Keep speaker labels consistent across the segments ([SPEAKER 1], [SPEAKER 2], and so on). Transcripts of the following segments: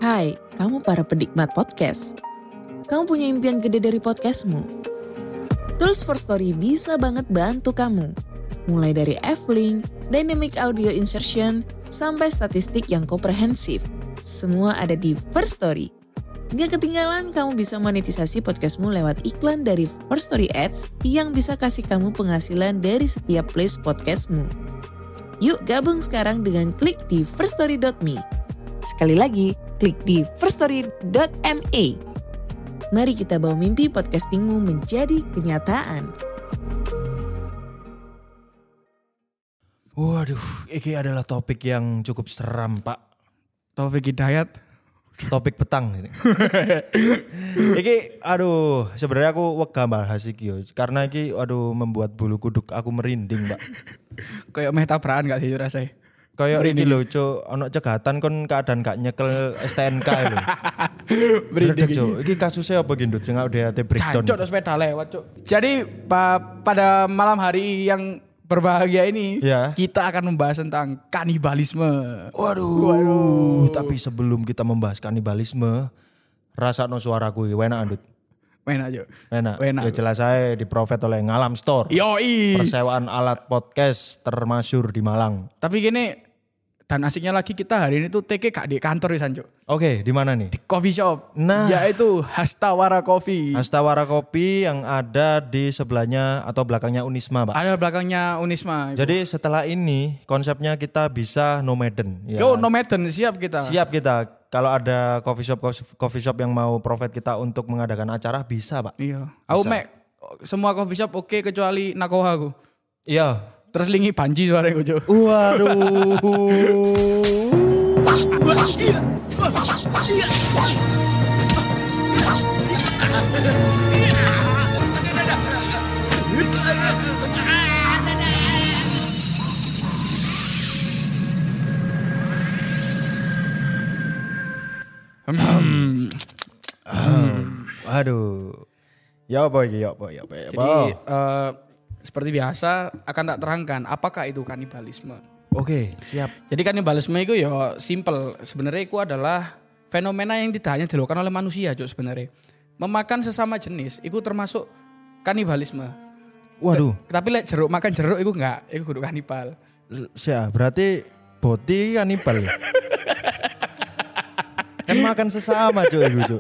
[SPEAKER 1] Hai, kamu para penikmat podcast. Kamu punya impian gede dari podcastmu? Tools for Story bisa banget bantu kamu. Mulai dari F-Link, Dynamic Audio Insertion, sampai statistik yang komprehensif. Semua ada di First Story. Gak ketinggalan kamu bisa monetisasi podcastmu lewat iklan dari First Story Ads yang bisa kasih kamu penghasilan dari setiap place podcastmu. Yuk gabung sekarang dengan klik di firststory.me. Sekali lagi, klik di firststory.me. Mari kita bawa mimpi podcastingmu menjadi kenyataan.
[SPEAKER 2] Waduh, ini adalah topik yang cukup seram, Pak.
[SPEAKER 3] Taufik Hidayat.
[SPEAKER 2] Topik petang ini. Iki sebenarnya aku wegah bahas iki yo. Karena iki membuat bulu kuduk aku merinding, Pak.
[SPEAKER 3] Kayak meh tabrakan gak sih rasanya?
[SPEAKER 2] Kayak iki lho, Cuk, ono cegatan kon keadaan gak nyekel STNK lho.
[SPEAKER 3] Merinding.
[SPEAKER 2] Cuk, iki kasusnya apa gendut sing udah breakdown.
[SPEAKER 3] Cacok sepeda lewat, Cuk. Jadi pada malam hari yang berbahagia ini,
[SPEAKER 2] ya,
[SPEAKER 3] kita akan membahas tentang kanibalisme.
[SPEAKER 2] Waduh. Tapi sebelum kita membahas kanibalisme, rasakno suaraku iki enak andut.
[SPEAKER 3] Enak, Cuk.
[SPEAKER 2] Enak.
[SPEAKER 3] Enak.
[SPEAKER 2] Ya jelas saya di-profit oleh Ngalam Store.
[SPEAKER 3] Yoi.
[SPEAKER 2] Persewaan alat podcast termasyur di Malang.
[SPEAKER 3] Tapi gini, dan asiknya lagi kita hari ini tuh TK gak di kantor ya, Sanjo.
[SPEAKER 2] Oke, di mana nih?
[SPEAKER 3] Di coffee shop.
[SPEAKER 2] Nah,
[SPEAKER 3] yaitu Hastawara Coffee.
[SPEAKER 2] Hastawara Kopi yang ada di sebelahnya atau belakangnya Unisma, Pak.
[SPEAKER 3] Ada belakangnya Unisma.
[SPEAKER 2] Jadi setelah ini konsepnya kita bisa nomaden. Ya.
[SPEAKER 3] Yo, nomaden, siap kita.
[SPEAKER 2] Siap kita. Kalau ada coffee shop yang mau profit kita untuk mengadakan acara bisa, Pak.
[SPEAKER 3] Iya. Aku semua coffee shop oke kecuali Nakoha aku.
[SPEAKER 2] Iya.
[SPEAKER 3] Terus lingi banji suaranya Ujo.
[SPEAKER 2] Waduh. Aduh. Ya apa iki?
[SPEAKER 3] Jadi seperti biasa akan tak terangkan apakah itu kanibalisme.
[SPEAKER 2] Oke, siap.
[SPEAKER 3] Jadi kanibalisme itu ya simple. Sebenarnya itu adalah fenomena yang tidak hanya dilakukan oleh manusia, Cuk, sebenarnya. Memakan sesama jenis itu termasuk kanibalisme.
[SPEAKER 2] Waduh.
[SPEAKER 3] Tapi lek jeruk makan jeruk itu enggak, itu kudu kanibal.
[SPEAKER 2] Siap, berarti boti kanibal. Kan makan sesama, Cuk, itu, Cuk.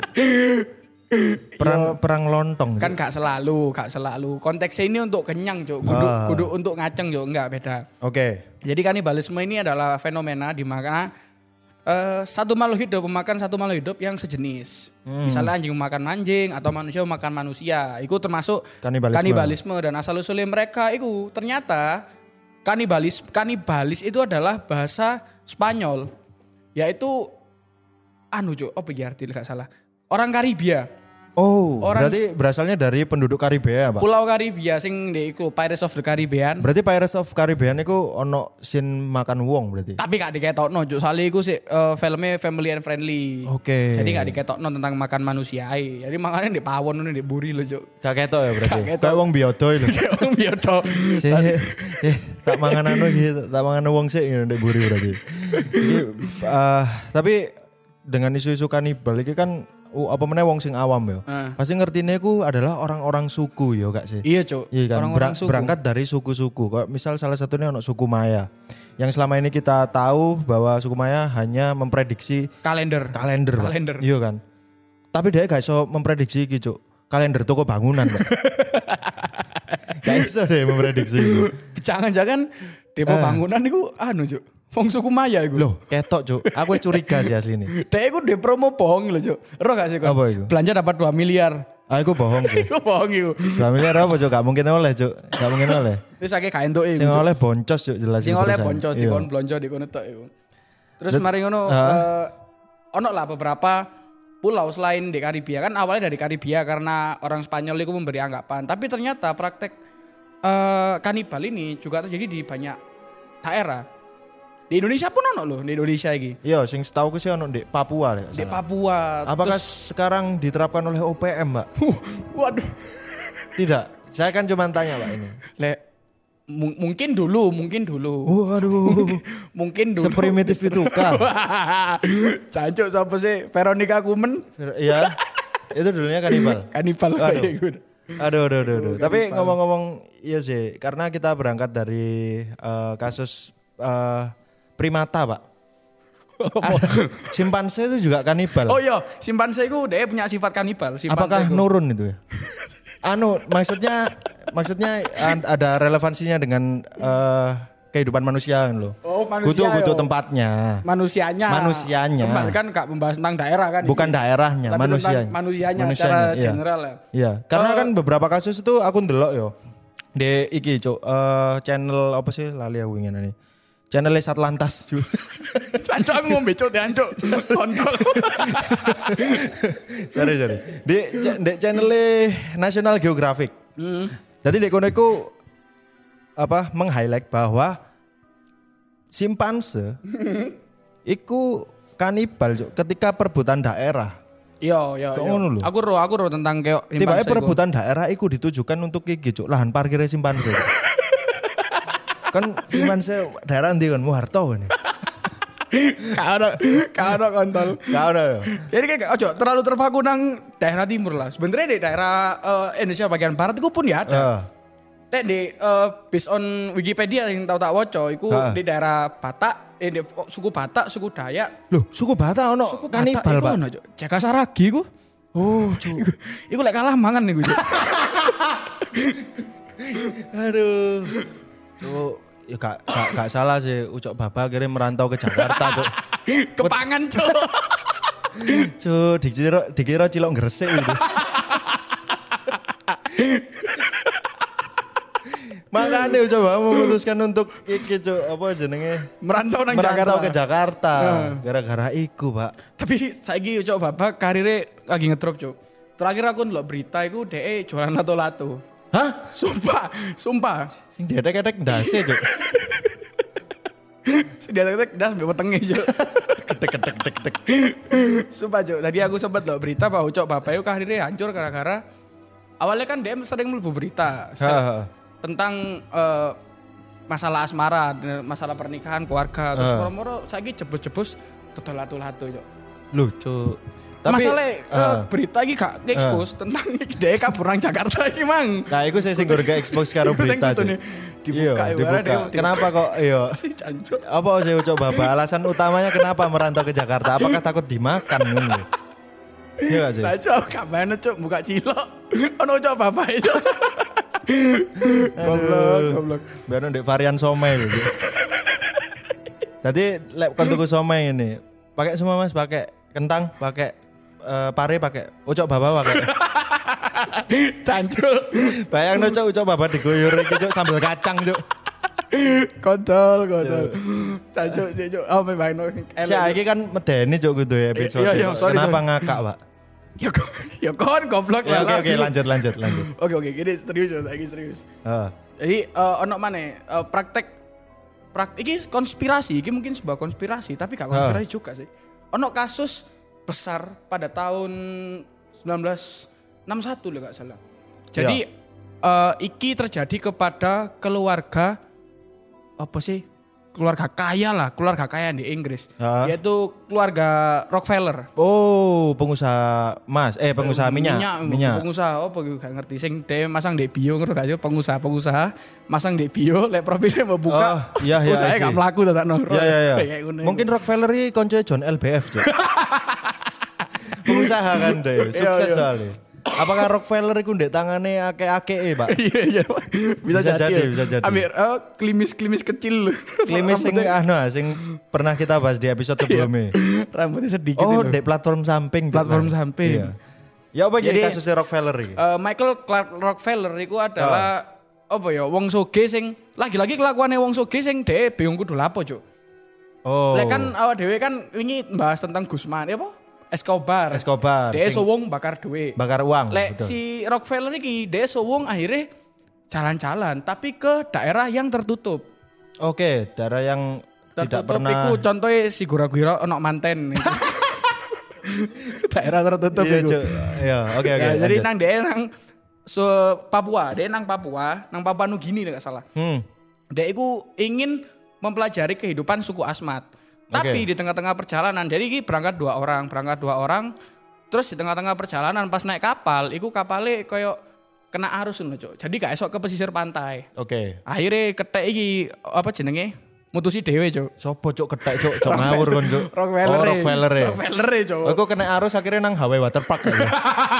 [SPEAKER 2] Perang lontong.
[SPEAKER 3] Kan gak selalu. Konteksnya ini untuk kenyang, Cuk. Kudu untuk ngaceng, Cuk, enggak beda.
[SPEAKER 2] Oke.
[SPEAKER 3] Jadi kanibalisme ini adalah fenomena di mana satu makhluk hidup memakan satu makhluk hidup yang sejenis. Misalnya anjing memakan anjing atau manusia memakan manusia. Itu termasuk kanibalisme. Dan asal usulnya mereka itu ternyata kanibalis itu adalah bahasa Spanyol. Yaitu Cuk, apa ya artinya gak salah? Orang Karibia.
[SPEAKER 2] Oh, berarti berasalnya dari penduduk Karibia, Pak?
[SPEAKER 3] Pulau Karibia sing iku Pirates of the Caribbean.
[SPEAKER 2] Berarti Pirates of Caribbean iku ono scene makan wong berarti.
[SPEAKER 3] Tapi gak diketokno, Cuk. Soalnya iku sih filmnya family and friendly.
[SPEAKER 2] Oke.
[SPEAKER 3] Jadi gak diketokno tentang makan manusia ae. Jadi makannya di pawon di buri lho, Cuk.
[SPEAKER 2] Gak ketok ya berarti.
[SPEAKER 3] Kayak
[SPEAKER 2] wong biodo lho.
[SPEAKER 3] Kayak wong biodo.
[SPEAKER 2] Tak mangan gitu, tak mangan wong sik ngene ndek buri berarti. Tapi dengan isu-isu kanibal iki kan apa meneh wong sing awam ya. Pasti ngertine ku adalah orang-orang suku ya gak sih?
[SPEAKER 3] Iya, Cuk.
[SPEAKER 2] Iya kan?
[SPEAKER 3] Orang-orang suku.
[SPEAKER 2] Berangkat dari suku-suku. Kayak misal salah satunya ono suku Maya. Yang selama ini kita tahu bahwa suku Maya hanya memprediksi
[SPEAKER 3] kalender.
[SPEAKER 2] Pak. Iya kan? Tapi dia gak iso memprediksi iki, Cuk. Kalender toko bangunan, Pak. Gak iso deh memprediksi itu.
[SPEAKER 3] Jangan-jangan depo bangunan iku Cuk. Wong suku Maya iku.
[SPEAKER 2] Loh, ketok, Cuk. Aku curiga sih asli ini.
[SPEAKER 3] Dek iku de promo bohong lho, Cuk. Ero gak sih kok?
[SPEAKER 2] Apa iku?
[SPEAKER 3] Belanja dapat 2 miliar.
[SPEAKER 2] Aku bohong sih.
[SPEAKER 3] Iku bohong iku.
[SPEAKER 2] 2 miliar apa, Cuk? Gak mungkin oleh, Cuk. Gak mungkin oleh.
[SPEAKER 3] Wis akeh gak entuk iku.
[SPEAKER 2] Sing oleh boncos, Cuk, jelas.
[SPEAKER 3] Sing oleh boncos dikon blonjo dikon tok iku. Terus mari ngono ono lah beberapa pulau selain di Karibia. Kan awalnya dari Karibia karena orang Spanyol itu memberi anggapan. Tapi ternyata praktek kanibal ini juga terjadi di banyak daerah. Di Indonesia pun ono loh, di Indonesia iki.
[SPEAKER 2] Iya, sing setahu ku sih ono di Papua ya.
[SPEAKER 3] Di Papua.
[SPEAKER 2] Apakah sekarang diterapkan oleh OPM, Mbak?
[SPEAKER 3] Waduh.
[SPEAKER 2] Tidak. Saya kan cuma tanya, Pak, ini.
[SPEAKER 3] Mungkin dulu.
[SPEAKER 2] Waduh.
[SPEAKER 3] Mungkin dulu.
[SPEAKER 2] Seprimitif itu kah?
[SPEAKER 3] Cancuk siapa sih? Veronica Kumen.
[SPEAKER 2] Iya. Itu dulunya kanibal. Aduh. Tapi ngomong-ngomong iya sih, karena kita berangkat dari kasus primata, Pak. Simpanse itu juga kanibal.
[SPEAKER 3] Oh iya, simpanse itu dia punya sifat kanibal.
[SPEAKER 2] Apakah nurun itu ya? Maksudnya ada relevansinya dengan kehidupan manusia loh.
[SPEAKER 3] Oh, manusia.
[SPEAKER 2] Butuh tempatnya.
[SPEAKER 3] Manusianya. Kembali kan gak membahas tentang daerah kan.
[SPEAKER 2] Bukan daerahnya,
[SPEAKER 3] manusianya secara general ya.
[SPEAKER 2] Iya, karena kan beberapa kasus itu aku ndelok yo. Di iki cuk, channel apa sih lali aku ingin ini. Channel Satlantas.
[SPEAKER 3] Cancuk aku ngombe cuk diancuk. Kontol.
[SPEAKER 2] Sorry. Di channel National Geographic. Jadi di kono iku meng-highlight bahwa simpanse iku kanibal cuk ketika perebutan daerah.
[SPEAKER 3] Iya. Aku ro tentang kayak
[SPEAKER 2] tiba-tiba perebutan daerah iku ditujukan untuk iki cuk lahan parkir simpanse. Kan simpanse daerah ndi kan Muharto ini.
[SPEAKER 3] Kau kontol.
[SPEAKER 2] Kau ada.
[SPEAKER 3] Jadi kayak ojo terlalu terpaku nang daerah timur lah. Sebenarnya di daerah Indonesia bagian barat itu pun ya ada. Di based on Wikipedia yang tahu tak woco, itu di daerah Batak, di suku Batak, suku Dayak.
[SPEAKER 2] Loh, suku Batak ono kanibal, Pak.
[SPEAKER 3] Jaka Saragi ku. Oh, cuk. Iku lek kalah mangan niku.
[SPEAKER 2] Aduh. Tuh, ya gak salah sih Ucok Baba akhirnya merantau ke Jakarta, Cuk.
[SPEAKER 3] Kepangan, Cuk.
[SPEAKER 2] Cuk, dikira cilok Gresik gitu. Makanya Ucok Baba memutuskan untuk iki, Cuk, apa jenenge?
[SPEAKER 3] Merantau
[SPEAKER 2] ke Jakarta. Gara-gara iku, Pak.
[SPEAKER 3] Tapi saiki Ucok Baba karirnya lagi ngedrop, Cuk. Terakhir aku ndelok berita iku dhek jualan lato-lato.
[SPEAKER 2] Hah?
[SPEAKER 3] Sumpah.
[SPEAKER 2] Sing dedek-dedek ndase, Cuk.
[SPEAKER 3] Sing dedek-dedek ndas mbek wetenge, Cuk.
[SPEAKER 2] Kedek.
[SPEAKER 3] Sumpah, Cuk. Tadi aku sempat loh berita bahwa Ucok Bapak itu karirnya hancur gara-gara awalnya kan dia sering mlebu berita tentang masalah asmara, masalah pernikahan, keluarga, terus moro-moro saiki jebus-jebus dodol lato-lato, Cuk.
[SPEAKER 2] Loh, Cuk. Tapi
[SPEAKER 3] masalah berita iki gak expose tentang dia kabur nang Jakarta iki, Mang.
[SPEAKER 2] Nah, iku saya sing gak expose karo berita.
[SPEAKER 3] Dibuka.
[SPEAKER 2] Kenapa kok iya? Apa sih Ucok Baba? Alasan utamanya kenapa merantau ke Jakarta? Apakah takut dimakan ngono? Iya gak sih?
[SPEAKER 3] Cuk, gak mana Cuk, buka cilok. Ono Ucok Baba itu. Goblok.
[SPEAKER 2] Biar ndek varian somai gitu. Tadi lek kon tuku somai ini, pakai semua Mas, pakai kentang, pakai pare, pakai Ucok Baba pakai.
[SPEAKER 3] Cancuk.
[SPEAKER 2] Bayangno Ucok Baba diguyur iki Cuk sambal kacang Cuk.
[SPEAKER 3] Kontol. Cancuk sih Cuk. Oh bayangno.
[SPEAKER 2] Saiki kan medeni Cuk kudu ya episode. Kenapa ngakak, Pak?
[SPEAKER 3] Ya kon goblok
[SPEAKER 2] ya. Oke, lanjut.
[SPEAKER 3] Oke, gini serius. Jadi ono maneh praktek iki konspirasi, iki mungkin sebuah konspirasi tapi gak konspirasi juga sih. Ono kasus besar pada tahun 1961 loh gak salah. Jadi iki terjadi kepada keluarga apa sih? Keluarga kaya di Inggris. Yaitu keluarga Rockefeller.
[SPEAKER 2] Oh, pengusaha minyak.
[SPEAKER 3] Pengusaha apa gak ngerti sing dhewe masang ndek bio ngono gak sih pengusaha masang ndek bio lek profile mau buka. Usaha gak mlaku to tak noro.
[SPEAKER 2] Iya. Mungkin Rockefeller iki konco John LBF, Cuk. Pengusaha kan deh, sukses soalnya. Apakah Rockefeller itu ndek tangane akeh-akeh, Pak?
[SPEAKER 3] Iya. Bisa jadi.
[SPEAKER 2] Ambil
[SPEAKER 3] klimis kecil.
[SPEAKER 2] Klimis sing pernah kita bahas di episode sebelumnya.
[SPEAKER 3] Rambutnya sedikit.
[SPEAKER 2] Oh, ndek platform samping.
[SPEAKER 3] Iya.
[SPEAKER 2] Ya apa jadi kasusnya Rockefeller iki?
[SPEAKER 3] Michael Clark Rockefeller itu adalah apa ya wong soge sing lagi-lagi kelakuane wong soge sing dhewe bingung kudu lapo, Cuk.
[SPEAKER 2] Oh.
[SPEAKER 3] Lek kan awak dhewe kan wingi bahas tentang Gusman, apa? Escobar. Dia sowong bakar duit.
[SPEAKER 2] Bakar uang.
[SPEAKER 3] Lek si Rockefeller iki dia sowong akhirnya jalan-jalan tapi ke daerah yang tertutup.
[SPEAKER 2] Oke, daerah yang tertutup tidak pernah.
[SPEAKER 3] Iku contohnya si gura-gura ono manten. Daerah tertutup itu.
[SPEAKER 2] Iya, oke.
[SPEAKER 3] Jadi nang dia nang Papua, dia nang Papua Nugini enggak salah. Dek iku ingin mempelajari kehidupan suku Asmat. Tapi di tengah-tengah perjalanan, jadi ini berangkat dua orang. Terus di tengah-tengah perjalanan pas naik kapal, iku kapalnya koyo kena arus ngono, Cuk. Jadi gak esok ke pesisir pantai. Akhirnya ketek iki apa jenenge? Mutusi dhewe, Cuk.
[SPEAKER 2] Sopo Cuk ketek Cuk, Cuk ngawur kon Cuk.
[SPEAKER 3] Rockefeller, Cuk.
[SPEAKER 2] Aku kena arus akhirnya nang Hawaii Waterpark ya.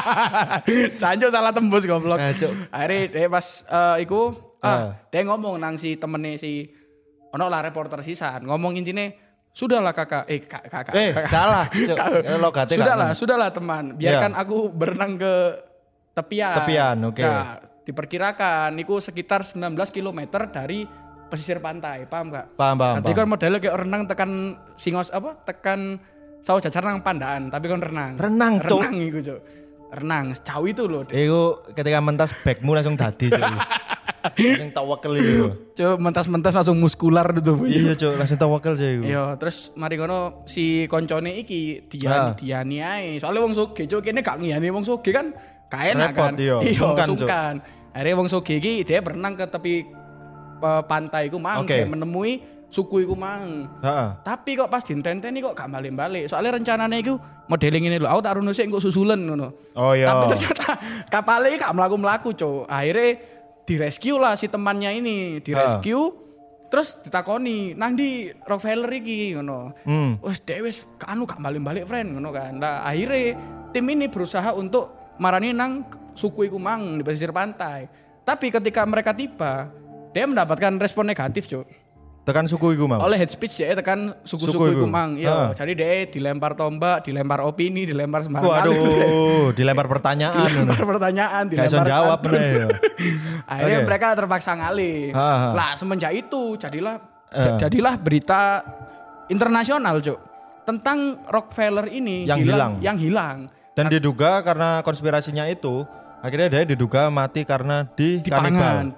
[SPEAKER 3] Cancuk salah tembus goblok. Akhirnya dia pas iku dia ngomong nang si temene si ono lah reporter sisan, ngomong intine sudahlah kakak.
[SPEAKER 2] Salah.
[SPEAKER 3] Sudahlah teman. Biarkan aku berenang ke tepian.
[SPEAKER 2] Oke.
[SPEAKER 3] Nah, diperkirakan niku sekitar 19 km dari pesisir pantai, paham gak?
[SPEAKER 2] Paham.
[SPEAKER 3] Nanti kan modelnya kayak renang tekan tekan sawo jajar nang Pandaan, tapi kan renang.
[SPEAKER 2] Renang
[SPEAKER 3] iku, Cuk. Renang, jauh itu loh.
[SPEAKER 2] Iku ketika mentas backmu langsung dadi, Cuk. Langsung tawakel itu.
[SPEAKER 3] Cuk, mentas-mentas langsung muskular gitu.
[SPEAKER 2] Iya, Cuk, langsung tawakel sih iku.
[SPEAKER 3] Iya, terus mari ngono si koncone iki diani ae. Soale wong sugih, Cuk, kene gak ngiyani wong sugih kan gak enak kan. Iya, sungkan. Akhirnya wong sugih iki dia berenang ke tepi pantai iku mang menemui suku iku mang. Tapi kok pas ditenteni kok gak balik-balik. Soalnya rencananya iku modeling ini lho, aku tak runo sik engko susulen ngono.
[SPEAKER 2] Oh iya.
[SPEAKER 3] Tapi ternyata kapalnya gak mlaku-mlaku, Cuk. Akhirnya direscue lah si temannya ini, terus ditakoni nang di Rockefeller iki ngono. Wes dhewe wis gak balik-balik friend ngono kan. Nah, akhirnya tim ini berusaha untuk marani nang suku iku mang di pesisir pantai. Tapi ketika mereka tiba, dia mendapatkan respon negatif, Cuk.
[SPEAKER 2] Tekan suku iku mang.
[SPEAKER 3] Oleh head speech dia tekan suku-suku iku mang. Iya, jadi dia dilempar tombak, dilempar opini, dilempar sembarang.
[SPEAKER 2] Waduh, dilempar pertanyaan.
[SPEAKER 3] Dilempar
[SPEAKER 2] jawab bener.
[SPEAKER 3] Akhirnya mereka terpaksa ngalih. Lah semenjak itu jadilah berita internasional, Cuk. Tentang Rockefeller ini yang hilang.
[SPEAKER 2] Dan diduga karena konspirasinya itu akhirnya dia diduga mati karena dipangan,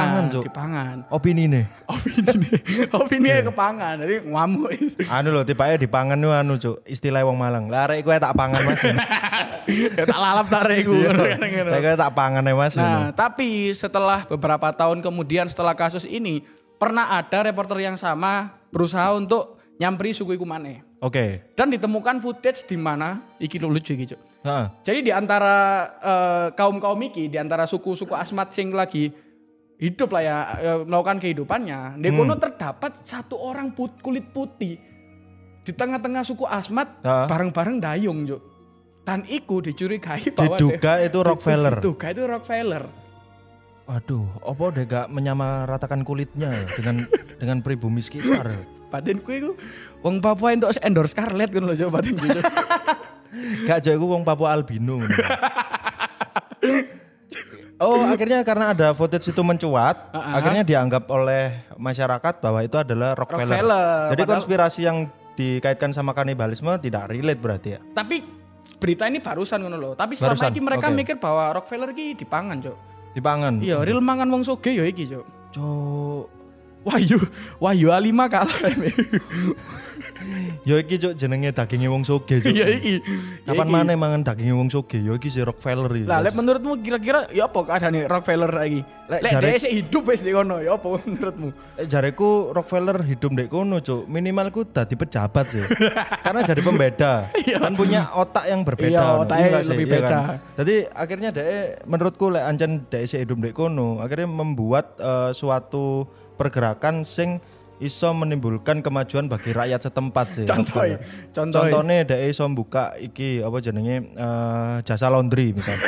[SPEAKER 2] Opini
[SPEAKER 3] kepangan, jadi ngamuk.
[SPEAKER 2] Lho, tipanya dipangan nu Cuk, istilah wong Malang. Larek gue tak pangan Mas.
[SPEAKER 3] Ya tak lalap tarik gue.
[SPEAKER 2] Gue tak pangan ya Mas.
[SPEAKER 3] Nah, tapi setelah beberapa tahun kemudian setelah kasus ini, pernah ada reporter yang sama berusaha untuk nyamperi suku iku maneh. Dan ditemukan footage di mana iki lucu iki, Cuk. Jadi di antara kaum-kaum iki, di antara suku-suku Asmat sing lagi hidup lah ya, melakukan kehidupannya, di kono terdapat satu orang kulit putih di tengah-tengah suku Asmat bareng-bareng dayung, Cuk. Dan iku dicurigai bahwa
[SPEAKER 2] diduga itu
[SPEAKER 3] Rockefeller.
[SPEAKER 2] Waduh, apa dia gak menyamaratakan kulitnya dengan pribumi sekitar?
[SPEAKER 3] Batinku iku wong Papua entuk endorse Scarlett ngono lho, Cuk, batinku.
[SPEAKER 2] Gak jauh wong Papua albino. Akhirnya karena ada footage itu mencuat, akhirnya dianggap oleh masyarakat bahwa itu adalah Rockefeller. Jadi konspirasi yang dikaitkan sama kanibalisme tidak relate berarti ya.
[SPEAKER 3] Tapi berita ini barusan ngono lho. Tapi selama ini mereka mikir bahwa Rockefeller iki dipangan, Cuk.
[SPEAKER 2] Dipangan.
[SPEAKER 3] Iya, real mangan wong sugih ya iki, Cuk.
[SPEAKER 2] Cuk.
[SPEAKER 3] Wahyu A5 kalah.
[SPEAKER 2] Ya iki Cuk jenenge daginge wong sugih, Cuk.
[SPEAKER 3] Ya iki.
[SPEAKER 2] Kapan maneh mangan daginge wong sugih? Ya iki si Rockefeller iki.
[SPEAKER 3] Lah lek menurutmu kira-kira ya apa keadaane Rockefeller saiki? Lek dhek sik hidup wis di kono, ya apa menurutmu?
[SPEAKER 2] Jareku Rockefeller hidup ndek kono, Cuk. Minimal ku dadi pejabat sih. Karena jadi pembeda. Kan punya otak yang berbeda.
[SPEAKER 3] Iya, otaknya lebih beda. Kan?
[SPEAKER 2] Jadi akhirnya dhek menurutku lek ancen dhek sik hidup ndek kono, akhirnya membuat suatu pergerakan sing iso menimbulkan kemajuan bagi rakyat setempat sih. Contohnya dhek iso buka iki apa jenenge jasa laundry misalnya.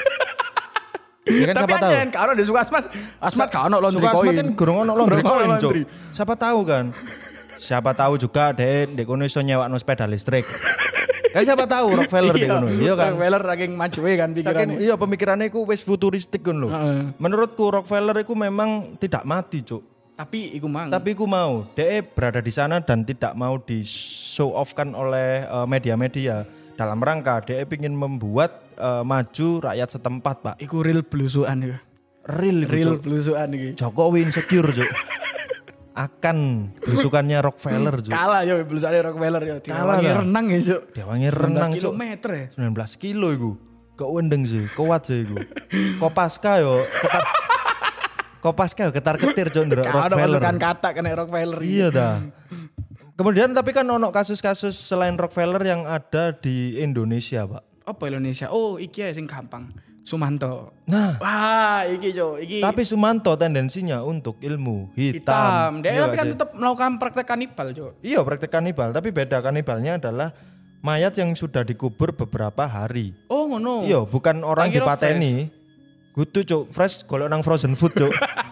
[SPEAKER 2] Ya kan,
[SPEAKER 3] tapi
[SPEAKER 2] siapa tahu.
[SPEAKER 3] Kalau di suku Asmat gak ono laundry koin.
[SPEAKER 2] Asmat kan gurung ono laundry koin, Cuk. Siapa tahu kan. Siapa tahu juga dhek kono iso nyewakno sepeda listrik. Kan siapa tahu Rockefeller di kono. Iya kan.
[SPEAKER 3] Rockefeller saking majuwe kan pikirannya.
[SPEAKER 2] Iya pemikirannya iku wis futuristik kan lho. Menurutku Rockefeller iku memang tidak mati, Cuk.
[SPEAKER 3] Tapi iku
[SPEAKER 2] mau. Dia berada di sana dan tidak mau di show off kan oleh media-media dalam rangka dia ingin membuat maju rakyat setempat, Pak.
[SPEAKER 3] Iku real blusukan ya. Real blusukan iki.
[SPEAKER 2] Jokowi insecure, Cuk. Akan blusukannya Rockefeller, Cuk.
[SPEAKER 3] Kalah ya blusukannya Rockefeller ya. Diwangi renang ya, Cuk.
[SPEAKER 2] Diwangi renang, Cuk.
[SPEAKER 3] 19 kilometer ya.
[SPEAKER 2] 19 kilo iku. Kok wendeng sih, kuat sih iku. Kopaska yo Kopaska ketar-ketir Cuk ndelok Rockefeller.
[SPEAKER 3] Kan kata kena Rockefeller.
[SPEAKER 2] Iya dah. Kemudian tapi kan ono kasus-kasus selain Rockefeller yang ada di Indonesia, Pak.
[SPEAKER 3] Apa Indonesia? Oh, iki ya sing gampang. Sumanto.
[SPEAKER 2] Nah,
[SPEAKER 3] wah, iki Cuk, iki.
[SPEAKER 2] tapi Sumanto tendensinya untuk ilmu hitam.
[SPEAKER 3] Dia tapi kan tetap melakukan praktek kanibal, Cuk.
[SPEAKER 2] Iya, praktek kanibal, tapi beda kanibalnya adalah mayat yang sudah dikubur beberapa hari.
[SPEAKER 3] Oh, ngono.
[SPEAKER 2] Iya, bukan orang dipateni. Kudu Cuk, fresh golek nang frozen food, Cuk.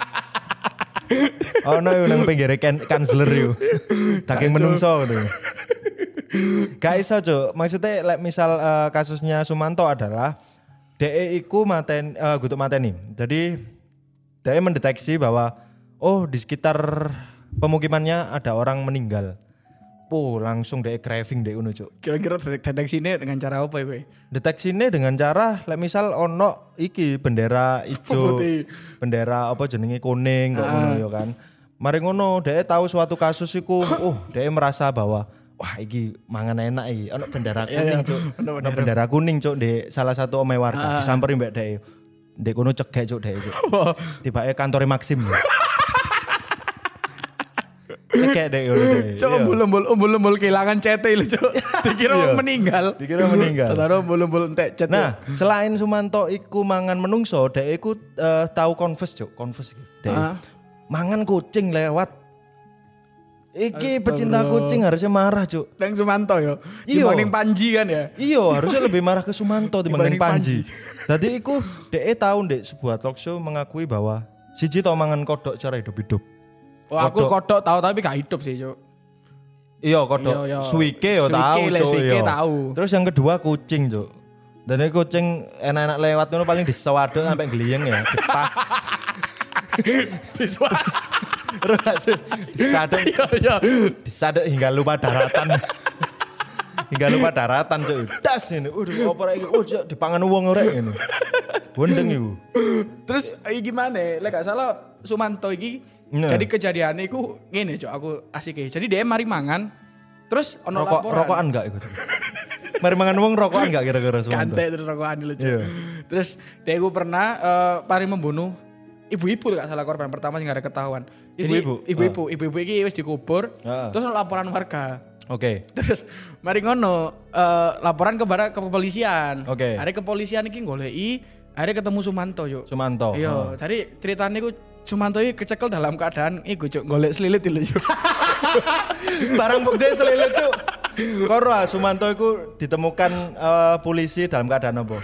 [SPEAKER 2] Ono nang pinggire kansler yo. Daging menungso ngono. Gak iso Cuk, maksudnya misal kasusnya Sumanto adalah DE iku gutuk mateni. Jadi DE mendeteksi bahwa di sekitar pemukimannya ada orang meninggal. Langsung DE craving DE ngono Cuk.
[SPEAKER 3] Kira-kira deteksine dengan cara apa kowe?
[SPEAKER 2] Deteksine dengan cara misal ono iki bendera ijo, bendera apa jenenge kuning kok ngono ya kan. Mari ngono DE tahu suatu kasus iku, DE merasa bahwa wah iki mangan enak iki, ono bendera kuning Cuk. Ono bendera kuning Cuk di salah satu omahe warga. Disamperin mbek DE. Ndek kono cegek Cuk DE. Tibake kantore Maxim. Cegek DE ngono DE.
[SPEAKER 3] Cuk umbul-umbul kehilangan CT lho Cuk. Dikira meninggal. Taruh umbul-umbul entek cet.
[SPEAKER 2] Nah, selain Sumanto iku mangan menungso, DE iku tahu confess Cuk, confess DE. Mangan kucing lewat. Iki pecinta kucing harusnya marah Cuk.
[SPEAKER 3] Nang Sumanto yo. Dibanding Panji kan ya.
[SPEAKER 2] Iya harusnya lebih marah ke Sumanto dibanding Panji. Jadi iku DE tahu ndek sebuah talk show mengakui bahwa siji tau mangan kodok cara hidup-hidup.
[SPEAKER 3] Oh aku kodok tahu tapi gak hidup sih Cuk.
[SPEAKER 2] Iya kodok suike yo tahu Cuk.
[SPEAKER 3] Tahu.
[SPEAKER 2] Terus yang kedua kucing Cuk. Dan ini kucing enak-enak lewat ngono paling disewaduk sampai gliyeng ya. Disadek hingga lupa daratan. Cuk. Das ini. Apa iki? Dipangan wong ora ngene. Wendeng iku.
[SPEAKER 3] Terus gimana? Lek gak salah Sumanto iki jadi kejadian iku ngene Cuk, aku asik e. Jadi dia mari mangan terus ono laporan.
[SPEAKER 2] Rokokan enggak iku? Mari mangan wong rokokan enggak kira-kira Sumanto?
[SPEAKER 3] Kantek terus rokokan lho Cuk. Terus dia iku pernah mari membunuh ibu-ibu gak salah korban pertama sing gak ada ketahuan. Jadi ibu-ibu iki wis dikubur, terus laporan warga.
[SPEAKER 2] Oke.
[SPEAKER 3] Terus mari ngono laporan ke kepolisian.
[SPEAKER 2] Oke.
[SPEAKER 3] Hari kepolisian iki goleki, akhirnya ketemu Sumanto Cuk.
[SPEAKER 2] Sumanto.
[SPEAKER 3] Iya, jadi ceritanya iku Sumanto iki kecekel dalam keadaan iku Cuk, golek selilit lho Cuk.
[SPEAKER 2] Barang bukti selilit Cuk. Karo Sumanto iku ditemukan polisi dalam keadaan apa?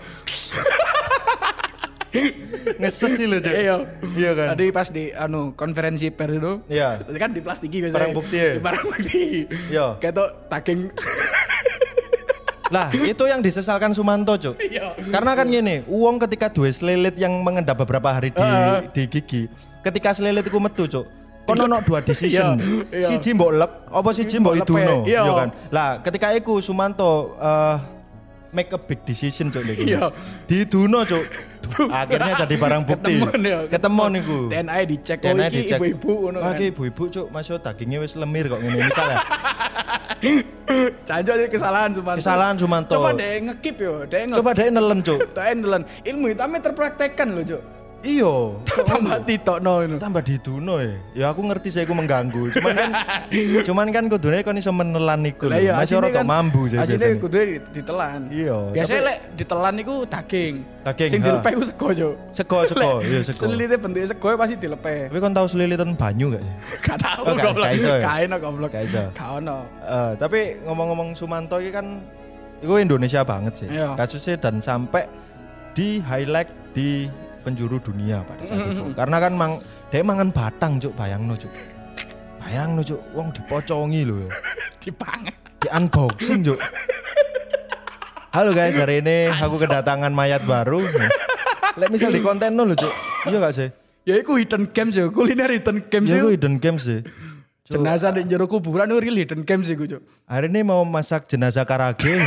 [SPEAKER 2] Ngeses sih lo Cuk. Iya kan.
[SPEAKER 3] Tadi pas di konferensi pers itu.
[SPEAKER 2] Iya.
[SPEAKER 3] Kan diplastiki biasanya.
[SPEAKER 2] Barang bukti ya.
[SPEAKER 3] Barang bukti.
[SPEAKER 2] Iya.
[SPEAKER 3] Ketok daging.
[SPEAKER 2] Lah itu yang disesalkan Sumanto Cuk.
[SPEAKER 3] Iya.
[SPEAKER 2] Karena kan gini, uang ketika duwe selilit yang mengendap beberapa hari di gigi, ketika selilit iku metu Cuk. Kono ono dua decision. Siji mbok lek, apa siji mbok iduno, ya kan. Lah ketika iku Sumanto make a big decision Cuk niku.
[SPEAKER 3] Iya.
[SPEAKER 2] Diduno Cuk. Akhirnya jadi barang bukti. Ketemu niku.
[SPEAKER 3] DNA dicek iki ibu-ibu ngono kan.
[SPEAKER 2] Iki ibu-ibu Cuk, masuk dagingnya wis lemir kok ngene misalnya.
[SPEAKER 3] Cancok iki kesalahan Sumanto. Coba deh ngekip yo,
[SPEAKER 2] Coba deh nelen Cuk.
[SPEAKER 3] Nelen. Ilmu hitamnya terpraktekkan lho Cuk.
[SPEAKER 2] Iya,
[SPEAKER 3] tambah ditokno ngono.
[SPEAKER 2] Tambah diduno ya. Ya aku ngerti saya aku mengganggu. Cuman kan kudune kon iso menelan iku lho. Masih ora tok mambu sih.
[SPEAKER 3] Asline kudu ditelan.
[SPEAKER 2] Iya.
[SPEAKER 3] Biasanya lek ditelan iku daging.
[SPEAKER 2] Sing
[SPEAKER 3] dilepe iku sego, Cuk.
[SPEAKER 2] Sego. Iya sego.
[SPEAKER 3] Selilite bentuke sego pasti dilepe.
[SPEAKER 2] Tapi kon tau selilitan banyu gak sih?
[SPEAKER 3] Gak tau goblok. Gak ono goblok. Gak ono.
[SPEAKER 2] Tapi ngomong-ngomong Sumanto iki kan iku Indonesia banget sih. Kasusnya dan sampai di highlight di penjuru dunia pada saat itu. Karena kan dia mangan batang Cuk, bayangno Cuk. Wong dipocongi lho.
[SPEAKER 3] Dipangan.
[SPEAKER 2] Di unboxing Cuk. Halo guys, hari ini aku kedatangan mayat baru. Lek misal di konten lho Cuk. Iya gak sih?
[SPEAKER 3] Ya iku hidden games ya, kuliner hidden games
[SPEAKER 2] ya. Iku hidden games sih.
[SPEAKER 3] Jenazah di jero kuburan itu real hidden games iku Cuk.
[SPEAKER 2] Hari ini mau masak jenazah karage.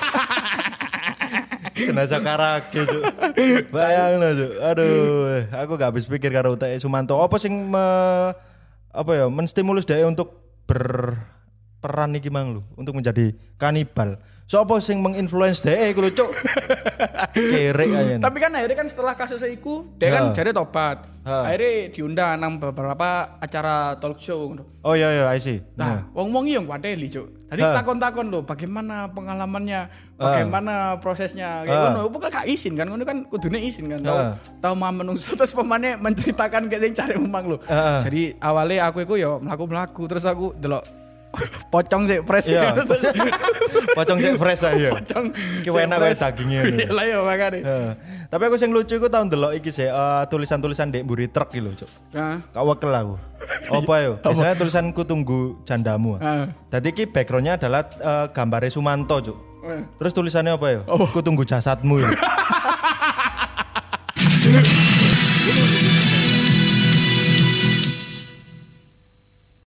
[SPEAKER 2] Jenazah karake Cuk. Bayangno Cuk. Aduh, aku gak habis pikir karo utek Sumanto. Apa sing menstimulus dia untuk peran iki mang lho untuk menjadi kanibal. Sopo sing menginfluence dhek iku lho cuk. Kerek ayen.
[SPEAKER 3] Tapi kan akhirnya kan setelah kasus iku dia kan jare tobat. Akhirnya diundang nang beberapa acara talk show ngono.
[SPEAKER 2] Oh iya I see.
[SPEAKER 3] Nah, wong-wong iki yang wadeli cuk. Tadi takon-takon lho bagaimana pengalamannya, bagaimana prosesnya kayak ngono. Pokoknya gak izin kan ngono kan kudune izin kan. Tahu mah menungso terus pemane menceritakan kayak sing cari umang lho. Jadi awalnya aku iku yo mlaku-mlaku terus aku delok pocong sih fresh.
[SPEAKER 2] Iya. Pocong sih fresh aja.
[SPEAKER 3] Pocong
[SPEAKER 2] ki enak wae dagingnya.
[SPEAKER 3] Iya lah ya makane.
[SPEAKER 2] Tapi aku sing lucu iku tau ndelok iki sih tulisan-tulisan ndek mburi truk iki lho, Cuk. Heeh. Kak wekel aku. Apa yo? Misalnya tulisanku tunggu jandamu. Dadi iki backgroundnya adalah gambare Sumanto, Cuk. Terus tulisannya apa yo? Ku tunggu jasadmu.